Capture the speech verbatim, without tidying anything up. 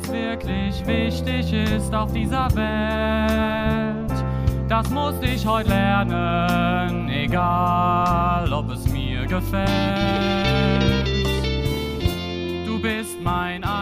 was wirklich wichtig ist auf dieser Welt. Das muss ich heute lernen, egal ob es mir gefällt. Du bist mein